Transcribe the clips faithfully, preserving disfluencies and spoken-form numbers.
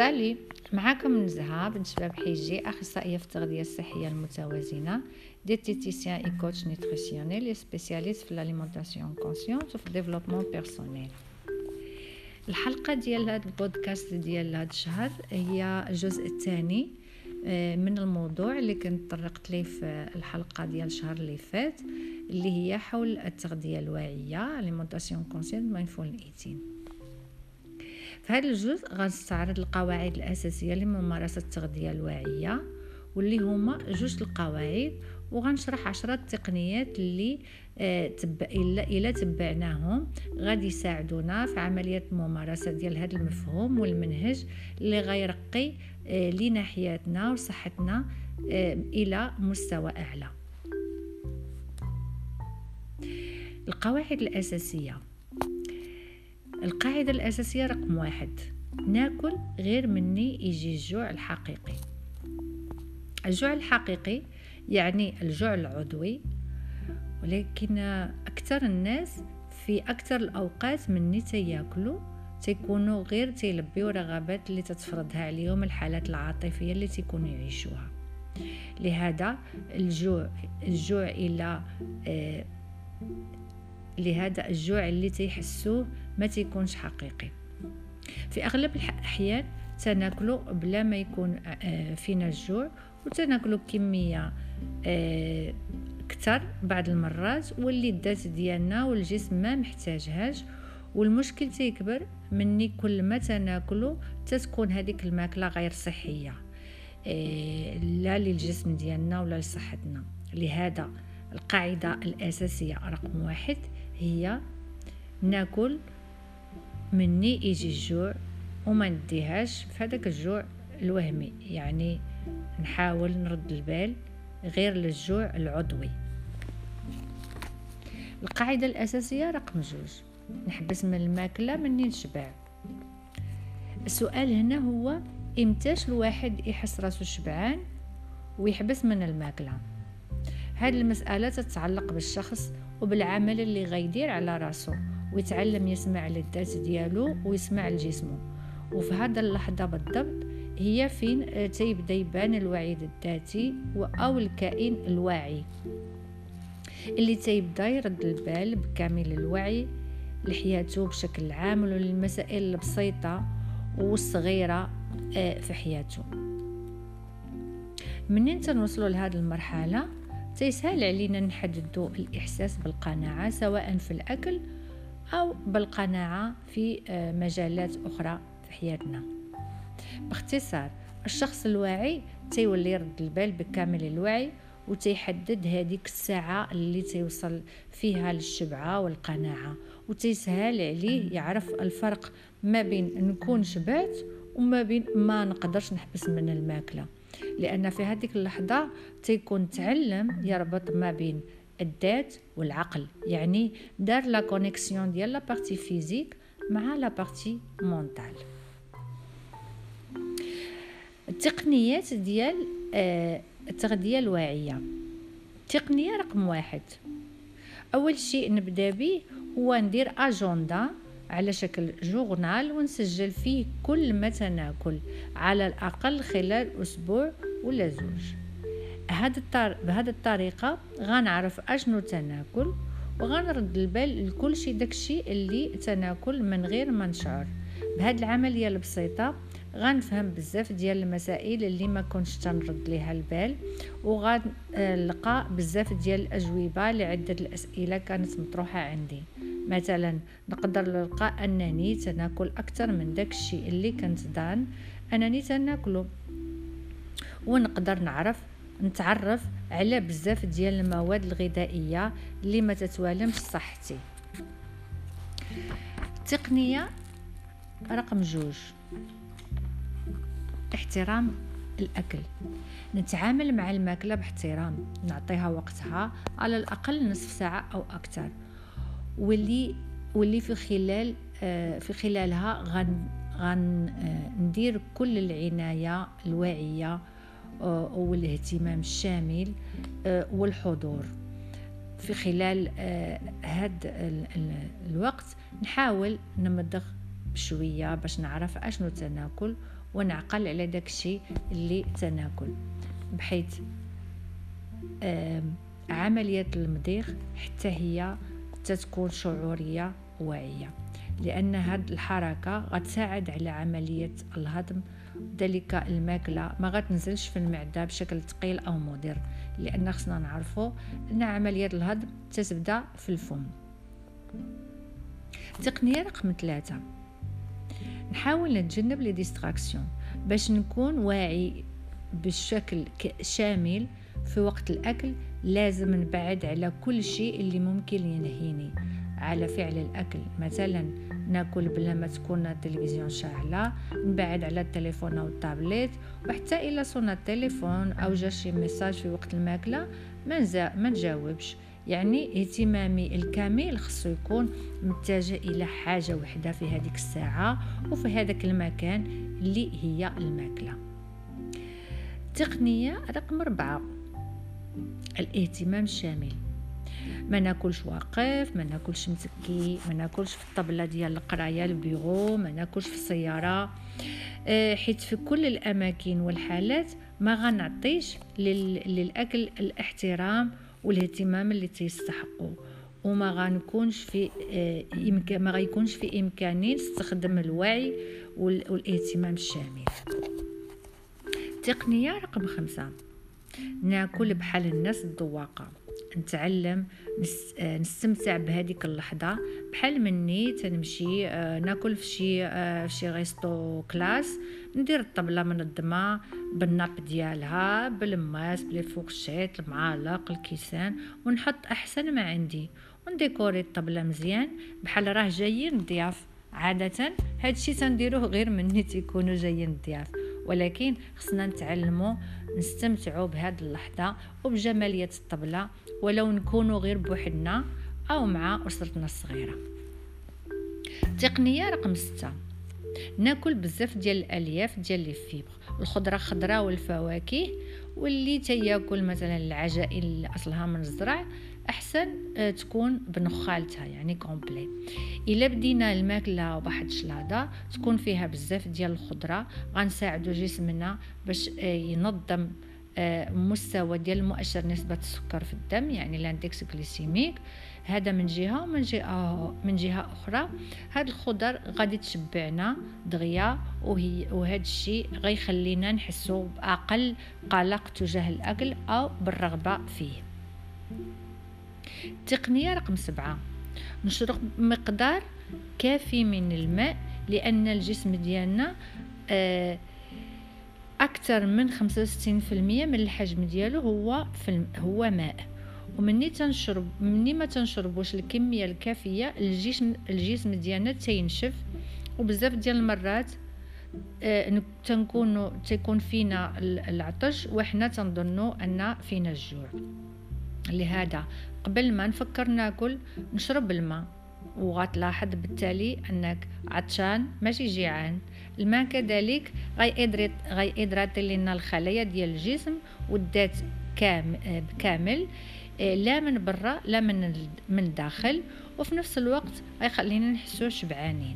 سالي، معاكم نزهة بنت شباب حيجي، أخصائية في التغذية الصحية المتوازنة، ديتيتيسيان اي كوتش نيتريسيونيل سبيسياليست في الاليمونطاسيون كونسيونت وفي الديفلوبمون بيرسونيل. الحلقة ديال هذا البودكاست ديال هذا الشهر هي الجزء الثاني من الموضوع اللي كنت طرقت ليه في الحلقة ديال الشهر اللي فات، اللي هي حول التغذية الواعية الاليمونطاسيون كونسيونت مايندفول ايتين. في هذا الجزء غنستعرض القواعد الأساسية لممارسة التغذية الواعية، واللي هما جوج القواعد، وغنشرح عشرة تقنيات اللي آه تب... إلا, إلا تبعناهم غادي يساعدونا في عملية الممارسة ديال هذا المفهوم والمنهج اللي غيرقي آه لناحيتنا وصحتنا آه إلى مستوى أعلى. القواعد الأساسية. القاعدة الأساسية رقم واحد: ناكل غير مني يجي الجوع الحقيقي. الجوع الحقيقي يعني الجوع العضوي، ولكن أكثر الناس في أكثر الأوقات مني تياكلوا تيكونوا غير تيلبيو رغبات اللي تتفرضها عليهم الحالات العاطفية اللي تيكونوا يعيشوها. لهذا الجوع الجوع إلى آه لهذا الجوع اللي تيحسوه ما تيكونش حقيقي. في اغلب الاحيان تناكلوا بلا ما يكون فينا الجوع، وتناكلوا كميه اكثر بعض المرات واللي الذات ديالنا والجسم ما محتاجهاش، والمشكل تيكبر مني كل ما تناكلوا تتكون هذيك الماكله غير صحيه لا للجسم ديالنا ولا لصحتنا. لهذا القاعده الاساسيه رقم واحد هي ناكل مني يجي الجوع، وما نديهاش في هذاك الجوع الوهمي، يعني نحاول نرد البال غير للجوع العضوي. القاعدة الأساسية رقم جوج: نحبس من الماكلة مني نشبع. السؤال هنا هو امتاش الواحد يحس راسو شبعان ويحبس من الماكلة؟ هذه المسألة تتعلق بالشخص وبالعمل اللي غيدير على راسو، ويتعلم يسمع للذات ديالو ويسمع لجسمه. وفي هذا اللحظة بالضبط هي فين تيبدا يبان الوعي الذاتي أو الكائن الواعي اللي تيبدا يرد البال بكامل الوعي لحياته بشكل عام وللمسائل البسيطة والصغيرة في حياته. منين تنوصلوا لهذه المرحلة تيسهل علينا نحددوا الإحساس بالقناعة، سواء في الأكل أو بالقناعة في مجالات أخرى في حياتنا. باختصار، الشخص الواعي تيولي يرد البال بكامل الوعي وتيحدد هذيك الساعة اللي تيوصل فيها للشبعة والقناعة، وتيسهل عليه يعرف الفرق ما بين نكون شبعت وما بين ما نقدرش نحبس من الماكلة، لأن في هذه اللحظة تيكون تعلم يربط ما بين الذات والعقل، يعني دار لا كونيكسيون ديال لا بارتي فيزيك مع لا بارتي مونتال. التقنيات ديال التغذية الواعية. تقنية رقم واحد: أول شيء نبدأ به هو ندير أجندة على شكل جورنال ونسجل فيه كل ما تناكل على الأقل خلال أسبوع ولا زوج. بهذه الطريقة غنعرف أشنو تناكل وغنرد البال لكل شيء داكشي اللي تناكل من غير ما نشعر. بهذه العملية البسيطة غنفهم بزاف ديال المسائل اللي ما كنتش تنرد ليها البال، وغنلقى بزاف ديال الأجوبة لعدة الأسئلة كانت مطروحة عندي. مثلا نقدر نلقى أنني تناكل أكثر من داك الشيء اللي كنت ظان أنني تناكله، ونقدر نعرف نتعرف على بزاف ديال المواد الغذائية اللي ما تتوالمش صحتي. التقنية رقم جوج: احترام الأكل. نتعامل مع الماكلة باحترام، نعطيها وقتها على الأقل نصف ساعة أو أكثر، واللي واللي في خلال آه في خلالها غن غن آه ندير كل العناية الواعية آه والاهتمام الشامل آه والحضور. في خلال هذا الوقت نحاول نمضغ بشوية باش نعرف اشنو تناكل ونعقل على داكشي اللي تناكل، بحيث عملية المضيغ حتى هي تتكون شعورية واعية، لأن هاد الحركة غتساعد على عملية الهضم. ذلك الماكلة ما غتنزلش في المعدة بشكل ثقيل أو مضر، لأن خصنا نعرفوا أن عملية الهضم تتبدا في الفم. تقنية رقم ثلاثة، نحاول نتجنب لي ديستراكسيون باش نكون واعي بشكل شامل في وقت الأكل. لازم نبعد على كل شيء اللي ممكن ينهيني على فعل الأكل، مثلا ناكل بلا ما تكون التلفزيون شاعلة، نبعد على التليفون أو التابلت، وحتى إلا صونا التليفون أو جا شي ميساج في وقت الماكلة ما نجاوبش. يعني اهتمامي الكامل خصو يكون متجه إلى حاجة وحدة في هذيك الساعة وفي هذاك المكان اللي هي الماكلة. تقنية رقم أربعة، الاهتمام الشامل. ما ناكلش واقف، ما ناكلش متكي، ما ناكلش في الطبلة ديال القرايه البيرو، ما ناكلش في السياره، أه حيت في كل الاماكن والحالات ما غنعطيش للاكل الاحترام والاهتمام اللي تيستحقوا، وما غنكونش في أه إمكان ما غيكونش في امكاني نستخدم الوعي والاهتمام الشامل. تقنيه رقم خمسة، ناكل بحال الناس الذواقه. نتعلم نستمتع بهذيك اللحظه بحال مني تنمشي ناكل في شي في شي ريستو كلاس، ندير الطبله منظمه بالناب ديالها، بالماس، بلي فورشيت، المعالق، الكيسان، ونحط احسن ما عندي، ونديكوري الطبله مزيان بحال راه جايين الضياف. عاده هادشي تنديروه غير مني تيكونوا جايين الضياف، ولكن خصنا نتعلموا نستمتعوا بهذه اللحظه وبجماليه الطبله، ولو نكونوا غير بوحدنا او مع اسرتنا الصغيره. تقنيه رقم ستة، ناكل بزاف ديال الالياف ديال لي فيبر، الخضره خضراء والفواكه، واللي تياكل مثلا العجائن اللي اصلها من الزرع احسن تكون بنخالتها، يعني كومبلي. الا بدينا الماكله بواحد الشلاضه تكون فيها بزاف ديال الخضره، غنساعدوا جسمنا باش ينظم مستوى ديال المؤشر نسبه السكر في الدم، يعني الاندكس غليسيميك. هذا من جهه، ومن جهه من جهه اخرى هاد الخضر غادي تشبعنا دغيا، وهي وهذا الشيء غيخلينا نحسوا باقل قلق تجاه الاكل او بالرغبه فيه. تقنية رقم سبعة، نشرب مقدار كافي من الماء، لأن الجسم ديالنا أكثر من خمسة وستين بالمئة من الحجم ديالو هو في هو ماء، ومني تنشرب مني ما تنشربوش الكمية الكافية الجسم الجسم ديالنا تينشف، وبزاف ديال المرات آه تنكونوا تيكون فينا العطش وحنا تنظنوا ان فينا الجوع. لهذا قبل ما نفكر ناكل نشرب الماء، وغتلاحظ بالتالي انك عطشان ماشي جيعان. الماء كذلك غيدريط غيدراتي لنا الخلايا ديال الجسم والذات كامل كامل، لا من برا لا من من الداخل، وفي نفس الوقت غيخلينا نحسوا شبعانين.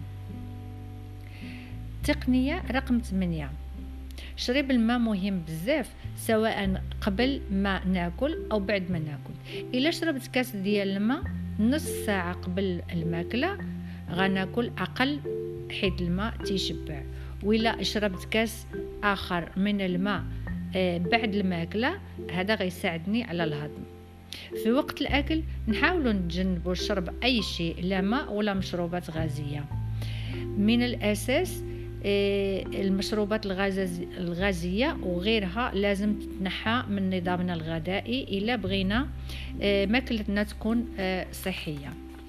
تقنية رقم ثمانية، شرب الماء مهم بزاف، سواء قبل ما ناكل او بعد ما ناكل. الا شربت كاس ديال الماء نص ساعه قبل الماكله غناكل اقل، حيت الماء تيشبع. وإلا شربت كاس اخر من الماء بعد الماكله هذا غيساعدني على الهضم. في وقت الاكل نحاولوا نتجنبوا شرب اي شيء لا ماء ولا مشروبات غازيه. من الاساس المشروبات الغازية وغيرها لازم تتنحى من نظامنا الغذائي إلا بغينا ماكلتنا تكون صحية.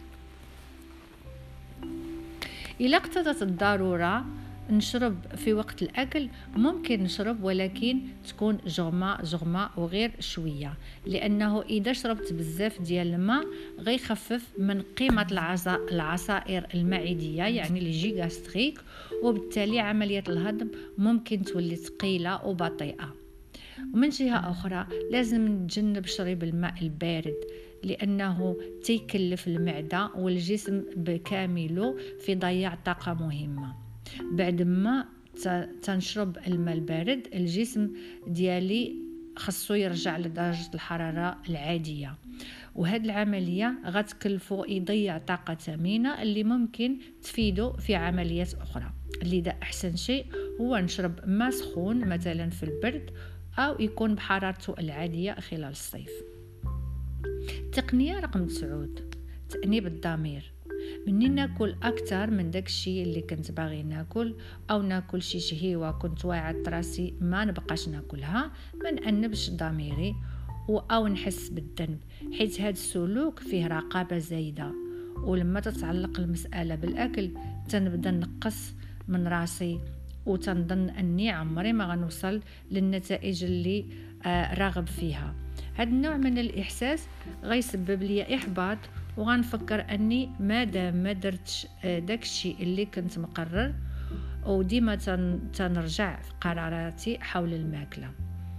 إلا اقتضت الضرورة نشرب في وقت الأكل ممكن نشرب، ولكن تكون جغمة جغمة وغير شوية، لأنه إذا شربت بزاف ديال الماء غيخفف من قيمة العصائر المعدية، يعني لي جي غاستريك، وبالتالي عملية الهضم ممكن تولي ثقيلة وبطيئة. ومن جهة أخرى لازم نتجنب شرب الماء البارد، لأنه تيكلف المعدة والجسم بكامله في ضياع طاقة مهمة. بعد ما تنشرب الماء البارد، الجسم ديالي خاصو يرجع لدرجة الحرارة العادية، وهاد العملية غتكلفو يضيع طاقة ثمينة اللي ممكن تفيدو في عمليات أخرى. لذا أحسن شيء هو نشرب ماء سخون مثلا في البرد أو يكون بحرارته العادية خلال الصيف. التقنية رقم تسعود، تأنيب الضمير. مني ناكل اكثر من داك الشيء اللي كنت باغي ناكل، او ناكل شي شهيوه كنت واعد راسي ما نبقاش ناكلها، ما نأنبش ضميري او نحس بالذنب، حيت هذا السلوك فيه رقابه زايده. ولما تتعلق المساله بالاكل تنبدا نقص من راسي وتنظن اني عمري ما غنوصل للنتائج اللي آه راغب فيها. هذا النوع من الاحساس غيسبب لي احباط، وغنفكر اني مادام ما درتش داك الشيء اللي كنت مقرر، وديما تنرجع في قراراتي حول الماكله.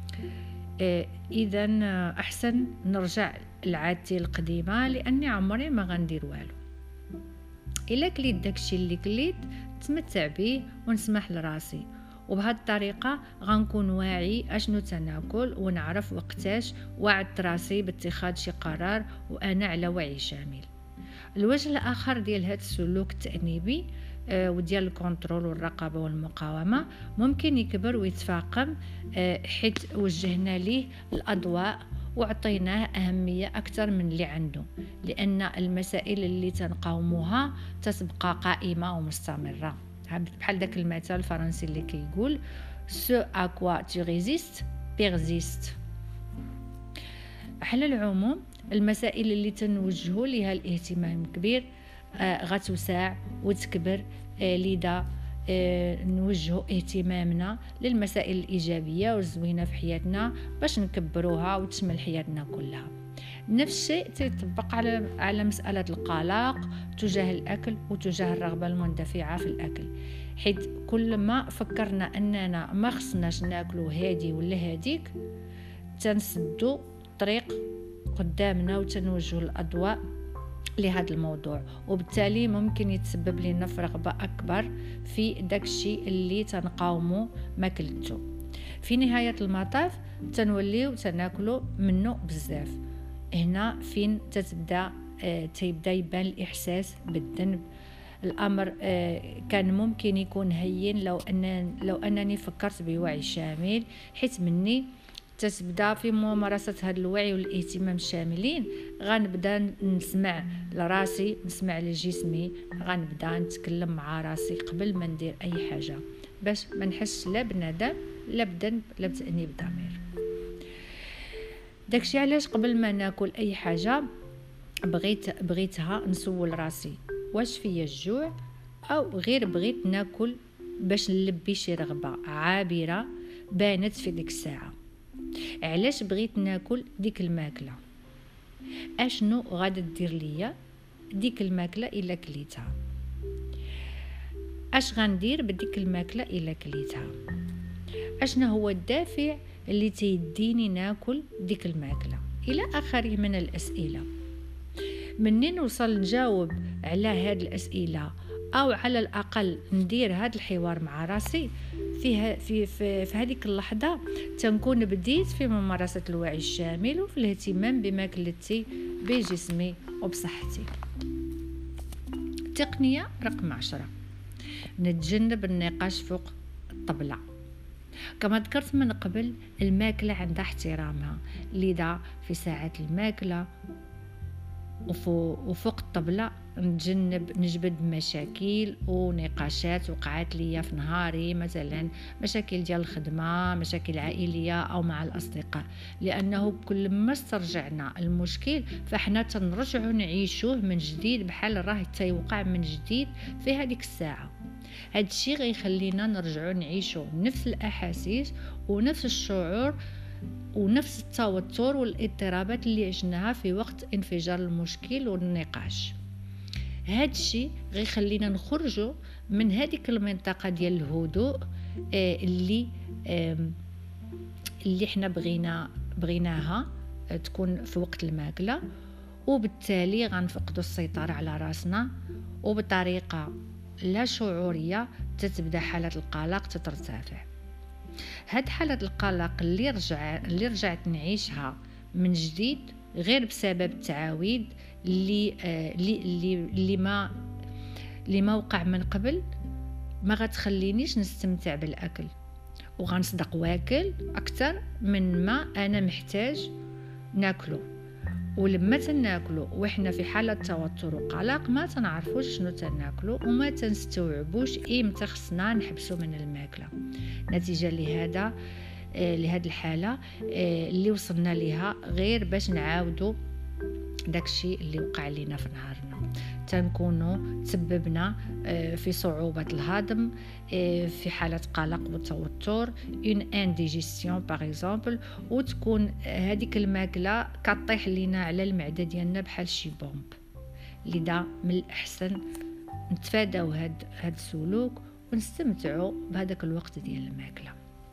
اذا احسن نرجع لعادتي القديمه، لاني عمري ما غندير والو. الا كليت داك الشيء اللي كليت تمتع به ونسمح لراسي، وبهذه الطريقه غنكون واعي اشنو تناكل، ونعرف وقتاش وعدت راسي باتخاذ شي قرار وانا على وعي شامل. الوجه الاخر ديال هذا السلوك التأنيبي آه وديال الكنترول والرقابه والمقاومه ممكن يكبر ويتفاقم، آه حيت وجهنا ليه الاضواء وعطيناه أهمية أكثر من اللي عنده، لأن المسائل اللي تنقاوموها تتبقى قائمة ومستمرة. بحال داك المثل الفرنسي اللي كيقول ce à quoi tu résistes persiste. على العموم المسائل اللي تنوجهوا لها الاهتمام كبير آه غتوسع وتكبر، آه لذا آه نوجهوا اهتمامنا للمسائل الإيجابية والزوينة في حياتنا باش نكبروها وتشمل حياتنا كلها. نفس الشيء تيطبق على على مسألة القلق تجاه الأكل وتجاه الرغبة المندفعة في الأكل، حيث كل ما فكرنا أننا ما خصناش ناكلو هادي ولا هاديك تنسدو طريق قدامنا وتنوجه الأضواء لهذا الموضوع، وبالتالي ممكن يتسبب لنا في رغبة أكبر في داك الشيء اللي تنقاومو ماكلتو. في نهاية المطاف تنوليو تناكلو منه بزاف. هنا فين تتبدا آه تيبدا يبان الإحساس بالذنب. الأمر آه كان ممكن يكون هين لو أن لو أنني فكرت بوعي شامل، حيت مني تتبدا في ممارسة هذا الوعي والاهتمام الشاملين غنبدا نسمع لراسي، نسمع لجسمي، غنبدا نتكلم مع راسي قبل ما ندير أي حاجة باش ما نحسش لا بندم لا بذنب لا بتأنيب ضمير. داكشي علاش قبل ما ناكل اي حاجه بغيت بغيتها نسول راسي واش فيا الجوع، او غير بغيت ناكل باش نلبي شي رغبه عابره بانت في ديك الساعه. علاش بغيت ناكل ديك الماكله، اشنو غادا دير ليا ديك الماكله الا كليتها، اش غندير بديك الماكله الا كليتها، اشنو هو الدافع اللي تيديني ناكل ديك الماكله، الى اخره من الاسئله. منين نوصل نجاوب على هاد الاسئله او على الاقل ندير هاد الحوار مع راسي فيها في في, في هذيك اللحظه تنكون بديت في ممارسه الوعي الشامل وفي الاهتمام بماكلتي بجسمي وبصحتي. تقنيه رقم عشرة، نتجنب النقاش فوق الطبله. كما ذكرت من قبل الماكله عندها احترامها، لذا في ساعة الماكله وفوق الطبله نتجنب نجبد مشاكل ونقاشات وقعات ليا في نهاري، مثلا مشاكل ديال الخدمه، مشاكل عائليه او مع الاصدقاء، لانه كل ما استرجعنا المشكل فاحنا تنرجعوا نعيشوه من جديد بحال راه تيوقع من جديد في هذيك الساعه. هذا الشيء غيخلينا نرجعوا نعيشوا نفس الاحاسيس ونفس الشعور ونفس التوتر والاضطرابات اللي عشناها في وقت انفجار المشكل والنقاش. هذا الشيء غيخلينا نخرجوا من هذيك المنطقه ديال الهدوء آه اللي آه اللي احنا بغينا بغيناها آه تكون في وقت الماكله، وبالتالي غنفقدوا السيطره على راسنا، وبطريقه لا شعوريه تتبدا حالة القلق تترتفع. هاد حالة القلق اللي رجع اللي رجعت نعيشها من جديد غير بسبب التعاويد اللي آه اللي اللي, اللي ما اللي ما وقع من قبل، ما غتخلينيش نستمتع بالاكل، وغنصدق واكل اكثر من ما انا محتاج ناكله. ولما تناكلو وإحنا في حالة توتر وقلق ما تنعرفوش شنو تناكلو وما تنستوعبوش إمتى خصنا نحبسو من الماكلة. نتيجة لهذا آه لهذه الحالة آه اللي وصلنا ليها غير باش نعاودو داكشي اللي وقع لينا في نهارنا، تنكونوا تسببنا في صعوبة الهضم، في حالة قلق وتوتر، une indigestion par exemple، وتكون هذيك الماكلة كطيح لينا على المعدة ديالنا بحال شي بومب. لذا من الأحسن نتفاداو هاد هاد السلوك ونستمتعوا بهذاك الوقت ديال الماكلة.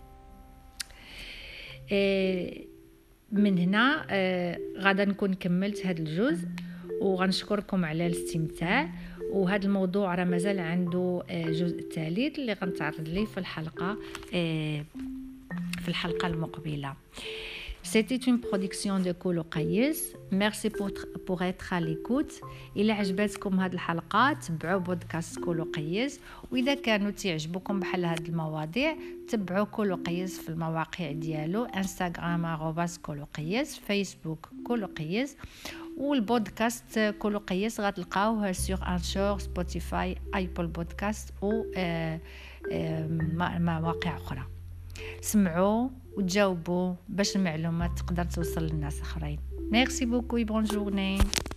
من هنا غادا نكون كملت هاد الجزء، وغنشكركم على الاستمتاع. وهذا الموضوع راه مازال عنده جزء ثالث اللي غنتعرض ليه في الحلقه في الحلقه المقبله. C'était une production de كولو قيس. Merci pour, pour être à l'écoute. إلا عجبتكم هذه الحلقة تبعوا بودكاست كولو قيس، وإذا كانوا تعجبكم بحال هذه المواضيع تبعوا كولو قيس في المواقع ديالو، انستغرام arobase كولو قيس، فيسبوك كولو قيس، والبودكاست كولو قيس غتلقاوه سور انشور، سبوتيفاي، ايبل بودكاست و مواقع أخرى. سمعوا وتجاوبوا باش المعلومات تقدر توصل للناس اخرين. ميرسي بوكو، بون جورني.